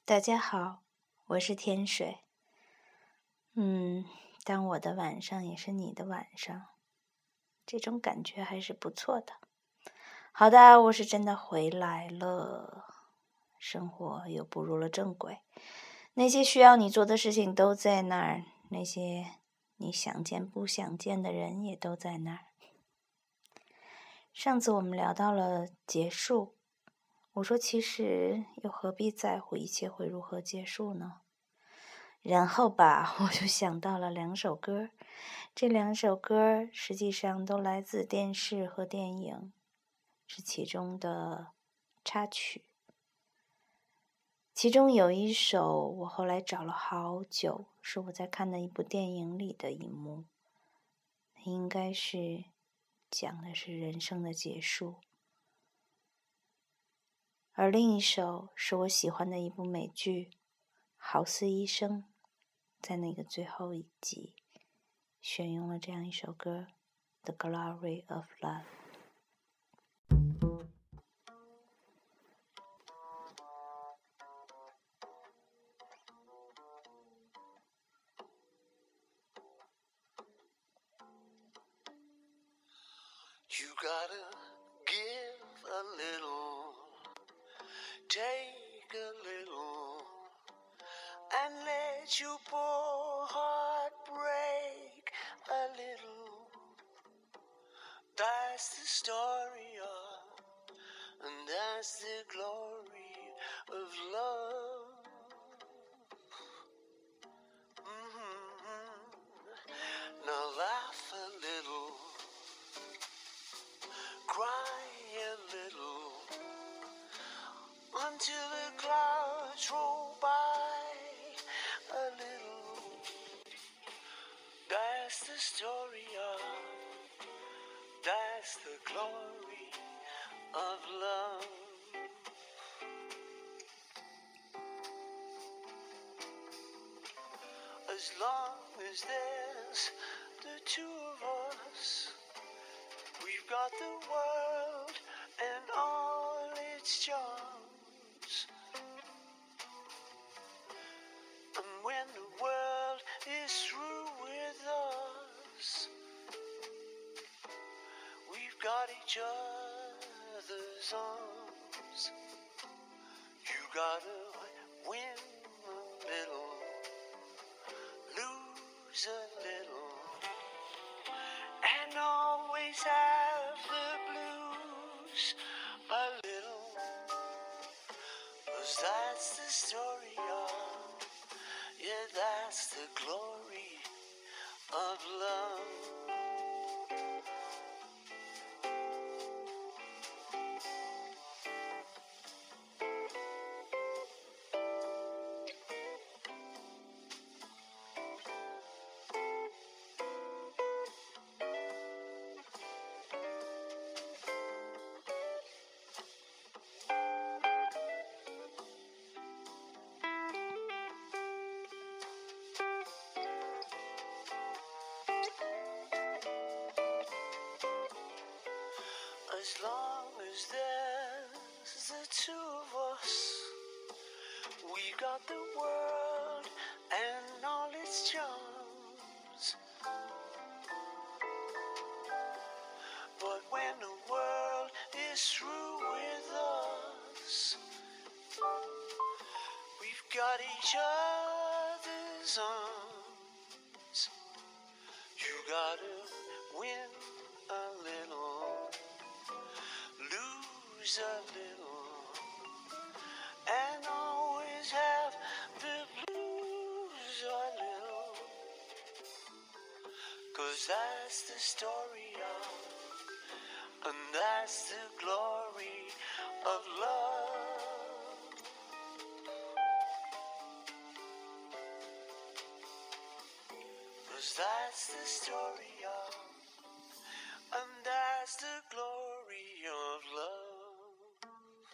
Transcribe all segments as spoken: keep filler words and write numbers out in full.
大家好，我是天水。嗯，当我的晚上也是你的晚上，这种感觉还是不错的。好的，我是真的回来了，生活又步入了正轨。那些需要你做的事情都在那儿，那些你想见不想见的人也都在那儿。上次我们聊到了结束，我说其实又何必在乎一切会如何结束呢？然后吧，我就想到了两首歌，这两首歌实际上都来自电视和电影，是其中的插曲。其中有一首我后来找了好久，是我在看的一部电影里的一幕，应该是讲的是人生的结束。而另一首是我喜欢的一部美剧《豪斯医生》，在那个最后一集选用了这样一首歌《The Glory of Love》。 You gotta give a little, take a little, and let your poor heart break a little. That's the story of, and that's the glory of love. Mm-hmm. Now laugh a little, cry a little, until the clouds roll by a little. That's the story of, that's the glory of love. As long as there's the two of us, we've got the world and all its charms. And when the world is through with us, we've got each other's arms. You gotta win a little, lose a little, and always have the blues a little. 'Cause that's the story of, yeah, that's the glory of love. As long as there's the two of us, we got the world and all its charms. But when the world is through with us, we've got each other's arms. You gotta win a little, lose a little, and always have the blues a little. 'Cause that's the story of, and that's the glory of love. Cause that's the story of, and that's the glory of love.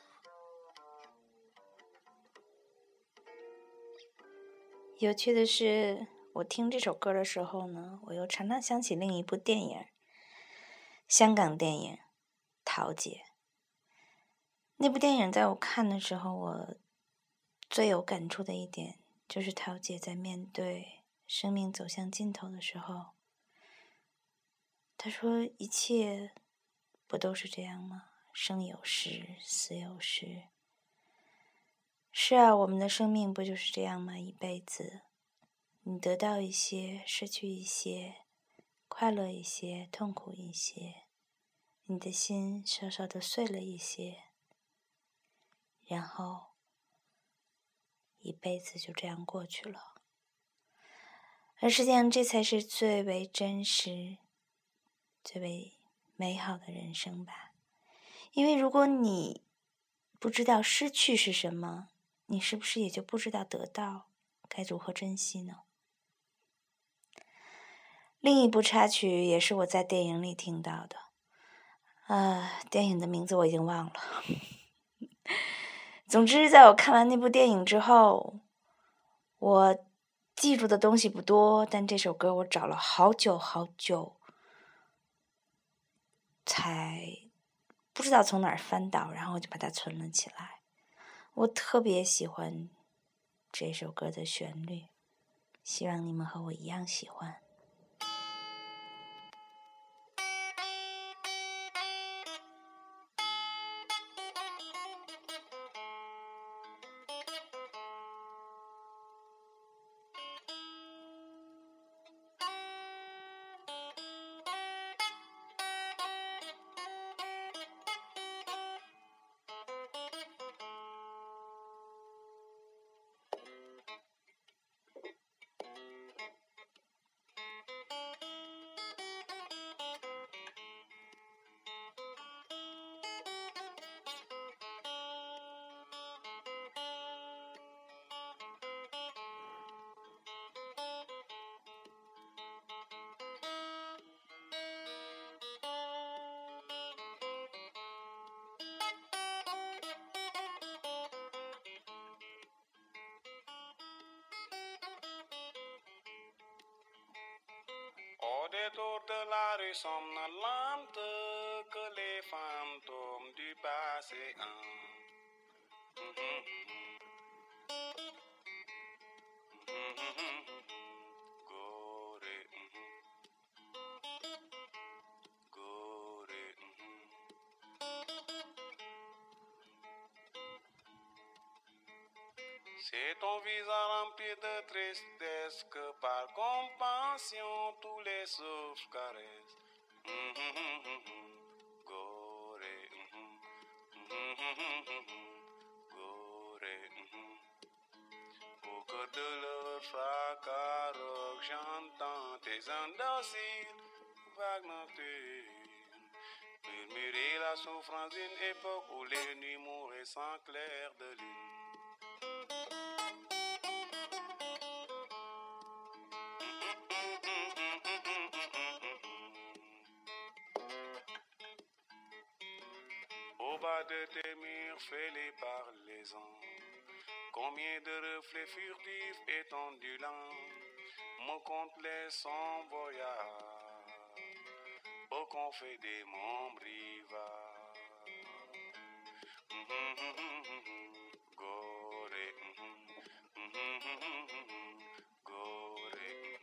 有趣的是，我听这首歌的时候呢，我又常常想起另一部电影，香港电影《桃姐》。那部电影在我看的时候，我最有感触的一点，就是桃姐在面对生命走向尽头的时候，她说一切不都是这样吗？生有时，死有时。是啊，我们的生命不就是这样吗？一辈子，你得到一些，失去一些，快乐一些，痛苦一些，你的心稍稍的碎了一些，然后一辈子就这样过去了。而实际上，这才是最为真实、最为美好的人生吧。因为如果你不知道失去是什么，你是不是也就不知道得到该如何珍惜呢？另一部插曲也是我在电影里听到的，呃，电影的名字我已经忘了。总之，在我看完那部电影之后，我记住的东西不多，但这首歌我找了好久好久，才不知道从哪儿翻到，然后我就把它存了起来。我特别喜欢这首歌的旋律，希望你们和我一样喜欢。 Au détour de la rue somnolente que les fantômes du passé hantent. Gorée, Gorée. C'est ton visage rempli de tristesse que par compassion tous les souffles caressent. Gorée, Gorée. Au cœur de leur fracas rock, j'entends tes indociles vagues nocturnes murmurer la souffrance d'une époque où les nuits mouraient sans clair de lune. Au bas de tes murs fêlés par les ans, combien de reflets furtifs et ondulants me content les son voyage au confet des monts rivages. Gorée, Gorée.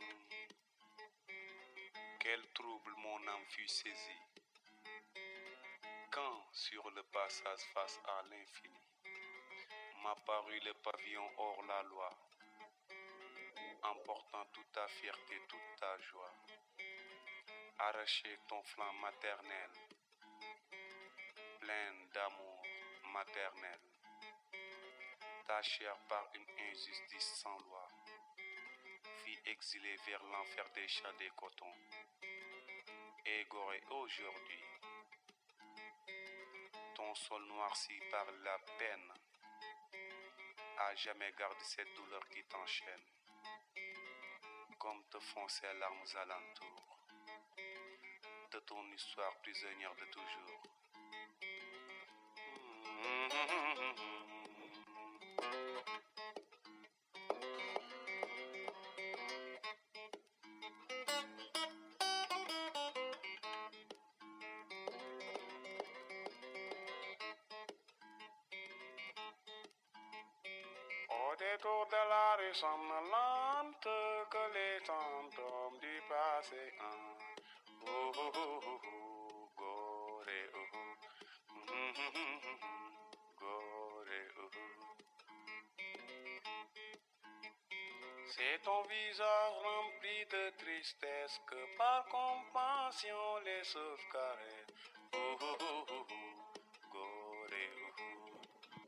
Quel trouble mon âme fut saisie quand sur le passage face à l'infini m'apparut le pavillon hors la loi, emportant toute ta fierté, toute ta joie. Arracher ton flanc maternel, plein d'amour maternel, ta chair par une injustice sans loi, fille exilée vers l'enfer des chats des cotons, égorée aujourd'hui, ton sol noirci par la peine, à jamais garde cette douleur qui t'enchaîne, comme te font ces larmes alentours, de ton histoire prisonnière de toujours. Au C'est trop de la ressemblante que les fantômes du passé ont. Oh, oh, oh, oh, oh, gore, oh, oh. Mm, mm, mm, mm, mm, gore, oh, oh. C'est ton visage rempli de tristesse que par compassion les sauvegarde. Oh, oh, oh, oh, oh, gore, oh, oh.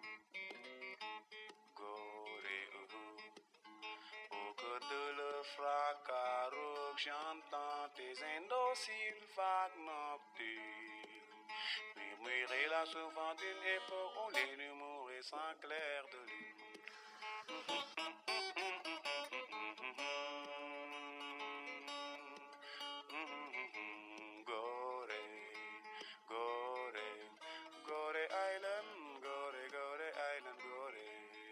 Gore, oh, oh. Au cœur de le fracas rauque, j'entends tes indociles vagues nocturnes murmurer la souffrance d'une époque où les numéros sans clair de lune. Gore, Gore, Gore Island, Gore, Gore Island, Gore.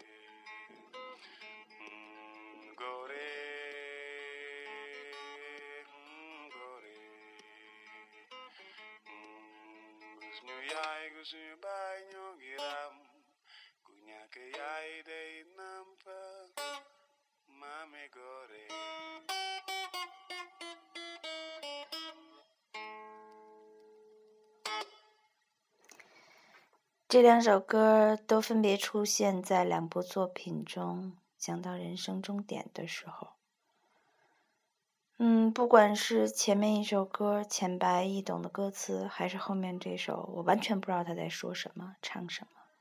Mm, Gore, mm, Gore. Mm, Gusnu yai, gusnu bai nyogiram, kunya ke yai dei nampa, mame Gore. 这两首歌都分别出现在两部作品中，讲到人生终点的时候。嗯，不管是前面一首歌浅白易懂的歌词，还是后面这首我完全不知道他在说什么唱什么，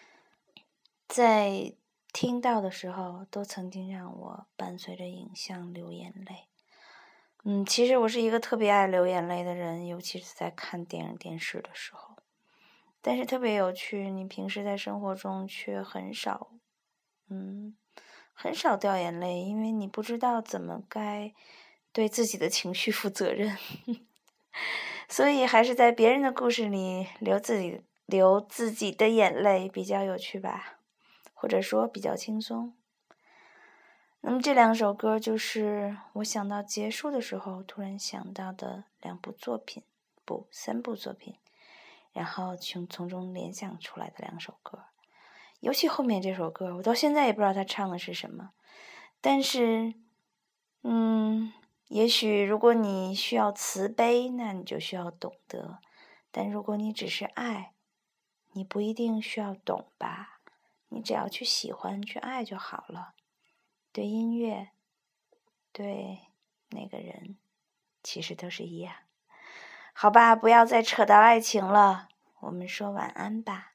在听到的时候都曾经让我伴随着影像流眼泪。嗯，其实我是一个特别爱流眼泪的人，尤其是在看电影电视的时候。但是特别有趣，你平时在生活中却很少嗯，很少掉眼泪，因为你不知道怎么该对自己的情绪负责任所以还是在别人的故事里流自己流自己的眼泪比较有趣吧，或者说比较轻松。那么这两首歌就是我想到结束的时候突然想到的两部作品，不，三部作品，然后从从中联想出来的两首歌。尤其后面这首歌，我到现在也不知道他唱的是什么，但是嗯，也许如果你需要慈悲，那你就需要懂得，但如果你只是爱，你不一定需要懂吧，你只要去喜欢去爱就好了。对音乐，对那个人，其实都是一样。好吧，不要再扯到爱情了，我们说晚安吧。